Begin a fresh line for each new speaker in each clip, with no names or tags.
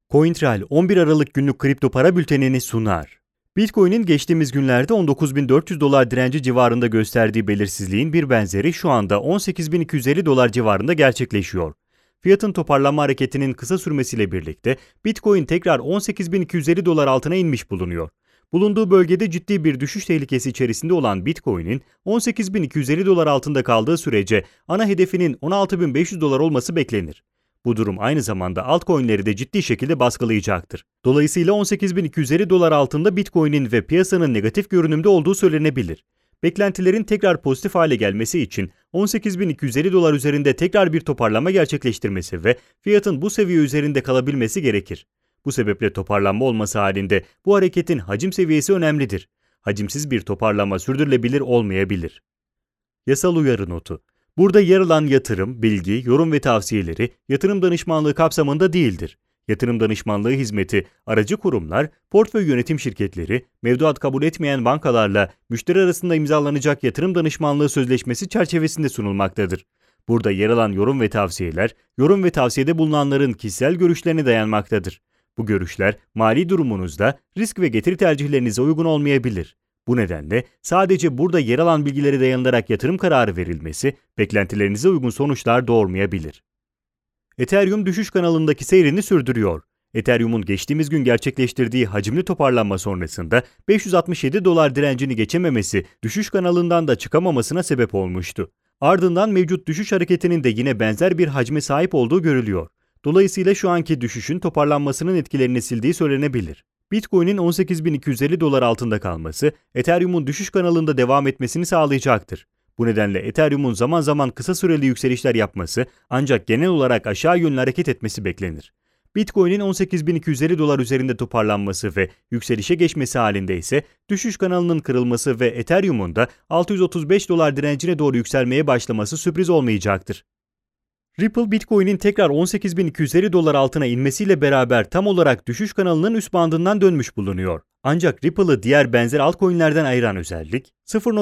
CoinTrail 11 Aralık günlük kripto para bültenini sunar. Bitcoin'in geçtiğimiz günlerde 19.400 dolar direnci civarında gösterdiği belirsizliğin bir benzeri şu anda 18.250 dolar civarında gerçekleşiyor. Fiyatın toparlanma hareketinin kısa sürmesiyle birlikte Bitcoin tekrar 18.250 dolar altına inmiş bulunuyor. Bulunduğu bölgede ciddi bir düşüş tehlikesi içerisinde olan Bitcoin'in 18.250 dolar altında kaldığı sürece ana hedefinin 16.500 dolar olması beklenir. Bu durum aynı zamanda altcoin'leri de ciddi şekilde baskılayacaktır. Dolayısıyla 18.250 dolar altında Bitcoin'in ve piyasanın negatif görünümde olduğu söylenebilir. Beklentilerin tekrar pozitif hale gelmesi için 18.250 dolar üzerinde tekrar bir toparlama gerçekleştirmesi ve fiyatın bu seviye üzerinde kalabilmesi gerekir. Bu sebeple toparlanma olması halinde bu hareketin hacim seviyesi önemlidir. Hacimsiz bir toparlama sürdürülebilir olmayabilir. Yasal uyarı notu. Burada yer alan yatırım, bilgi, yorum ve tavsiyeleri yatırım danışmanlığı kapsamında değildir. Yatırım danışmanlığı hizmeti, aracı kurumlar, portföy yönetim şirketleri, mevduat kabul etmeyen bankalarla müşteri arasında imzalanacak yatırım danışmanlığı sözleşmesi çerçevesinde sunulmaktadır. Burada yer alan yorum ve tavsiyeler, yorum ve tavsiyede bulunanların kişisel görüşlerine dayanmaktadır. Bu görüşler, mali durumunuzda risk ve getiri tercihlerinize uygun olmayabilir. Bu nedenle sadece burada yer alan bilgilere dayanılarak yatırım kararı verilmesi, beklentilerinize uygun sonuçlar doğurmayabilir. Ethereum düşüş kanalındaki seyrini sürdürüyor. Ethereum'un geçtiğimiz gün gerçekleştirdiği hacimli toparlanma sonrasında 567 dolar direncini geçememesi, düşüş kanalından da çıkamamasına sebep olmuştu. Ardından mevcut düşüş hareketinin de yine benzer bir hacme sahip olduğu görülüyor. Dolayısıyla şu anki düşüşün toparlanmasının etkilerini sildiği söylenebilir. Bitcoin'in 18.250 dolar altında kalması, Ethereum'un düşüş kanalında devam etmesini sağlayacaktır. Bu nedenle Ethereum'un zaman zaman kısa süreli yükselişler yapması ancak genel olarak aşağı yönlü hareket etmesi beklenir. Bitcoin'in 18.250 dolar üzerinde toparlanması ve yükselişe geçmesi halinde ise düşüş kanalının kırılması ve Ethereum'un da 635 dolar direncine doğru yükselmeye başlaması sürpriz olmayacaktır. Ripple, Bitcoin'in tekrar 18.250 dolar altına inmesiyle beraber tam olarak düşüş kanalının üst bandından dönmüş bulunuyor. Ancak Ripple'ı diğer benzer altcoin'lerden ayıran özellik,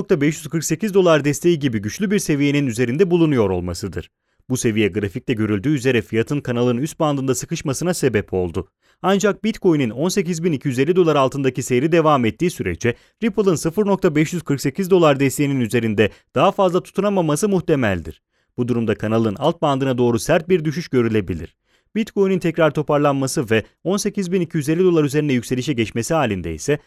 0.548 dolar desteği gibi güçlü bir seviyenin üzerinde bulunuyor olmasıdır. Bu seviye grafikte görüldüğü üzere fiyatın kanalın üst bandında sıkışmasına sebep oldu. Ancak Bitcoin'in 18.250 dolar altındaki seyri devam ettiği sürece Ripple'ın 0.548 dolar desteğinin üzerinde daha fazla tutunamaması muhtemeldir. Bu durumda kanalın alt bandına doğru sert bir düşüş görülebilir. Bitcoin'in tekrar toparlanması ve 18.250 dolar üzerine yükselişe geçmesi halinde ise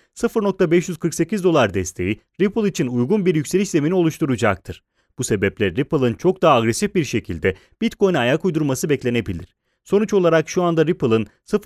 0.548 dolar desteği Ripple için uygun bir yükseliş zemini oluşturacaktır. Bu sebeple Ripple'ın çok daha agresif bir şekilde Bitcoin'e ayak uydurması beklenebilir. Sonuç olarak şu anda Ripple'ın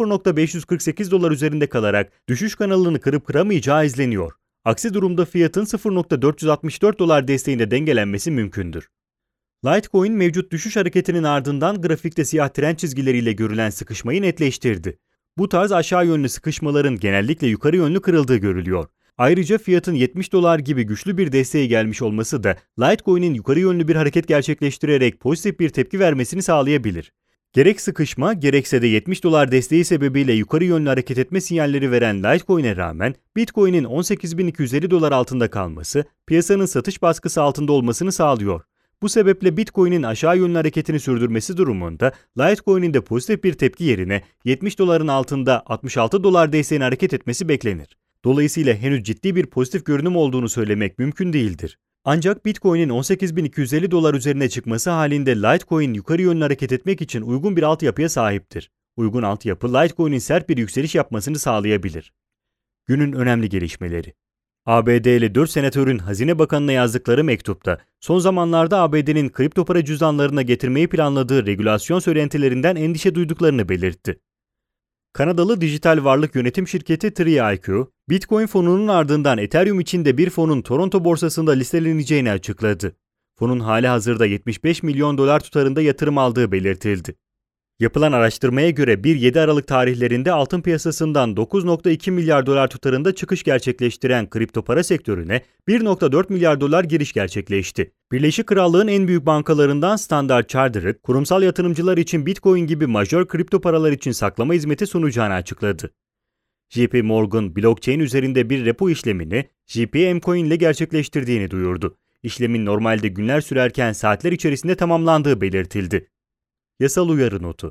0.548 dolar üzerinde kalarak düşüş kanalını kırıp kıramayacağı izleniyor. Aksi durumda fiyatın 0.464 dolar desteğinde dengelenmesi mümkündür. Litecoin mevcut düşüş hareketinin ardından grafikte siyah trend çizgileriyle görülen sıkışmayı netleştirdi. Bu tarz aşağı yönlü sıkışmaların genellikle yukarı yönlü kırıldığı görülüyor. Ayrıca fiyatın 70 dolar gibi güçlü bir desteğe gelmiş olması da Litecoin'in yukarı yönlü bir hareket gerçekleştirerek pozitif bir tepki vermesini sağlayabilir. Gerek sıkışma gerekse de 70 dolar desteği sebebiyle yukarı yönlü hareket etme sinyalleri veren Litecoin'e rağmen Bitcoin'in 18.250 dolar altında kalması piyasanın satış baskısı altında olmasını sağlıyor. Bu sebeple Bitcoin'in aşağı yönlü hareketini sürdürmesi durumunda Litecoin'in de pozitif bir tepki yerine 70 doların altında 66 dolar desteğine hareket etmesi beklenir. Dolayısıyla henüz ciddi bir pozitif görünüm olduğunu söylemek mümkün değildir. Ancak Bitcoin'in 18.250 dolar üzerine çıkması halinde Litecoin yukarı yönlü hareket etmek için uygun bir altyapıya sahiptir. Uygun altyapı Litecoin'in sert bir yükseliş yapmasını sağlayabilir. Günün önemli gelişmeleri. ABD'li 4 senatörün Hazine Bakanı'na yazdıkları mektupta, son zamanlarda ABD'nin kripto para cüzdanlarına getirmeyi planladığı regülasyon söylentilerinden endişe duyduklarını belirtti. Kanadalı dijital varlık yönetim şirketi TreeIQ, Bitcoin fonunun ardından Ethereum için de bir fonun Toronto borsasında listeleneceğini açıkladı. Fonun halihazırda 75 milyon dolar tutarında yatırım aldığı belirtildi. Yapılan araştırmaya göre 1-7 Aralık tarihlerinde altın piyasasından 9.2 milyar dolar tutarında çıkış gerçekleştiren kripto para sektörüne 1.4 milyar dolar giriş gerçekleşti. Birleşik Krallığın en büyük bankalarından Standard Chartered, kurumsal yatırımcılar için Bitcoin gibi majör kripto paralar için saklama hizmeti sunacağını açıkladı. JP Morgan, blockchain üzerinde bir repo işlemini JPM-Coin ile gerçekleştirdiğini duyurdu. İşlemin normalde günler sürerken saatler içerisinde tamamlandığı belirtildi. Yasal uyarı notu.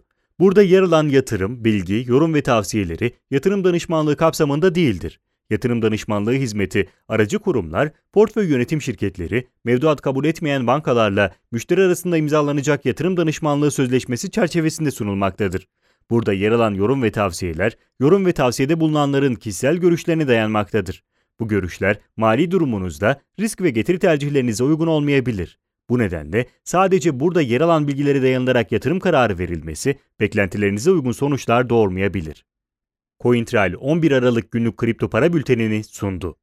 Burada yer alan yatırım, bilgi, yorum ve tavsiyeleri yatırım danışmanlığı kapsamında değildir. Yatırım danışmanlığı hizmeti, aracı kurumlar, portföy yönetim şirketleri, mevduat kabul etmeyen bankalarla müşteri arasında imzalanacak yatırım danışmanlığı sözleşmesi çerçevesinde sunulmaktadır. Burada yer alan yorum ve tavsiyeler, yorum ve tavsiyede bulunanların kişisel görüşlerine dayanmaktadır. Bu görüşler mali durumunuzda risk ve getiri tercihlerinize uygun olmayabilir. Bu nedenle sadece burada yer alan bilgilere dayanılarak yatırım kararı verilmesi beklentilerinize uygun sonuçlar doğurmayabilir. CoinTrail 11 Aralık günlük kripto para bültenini sundu.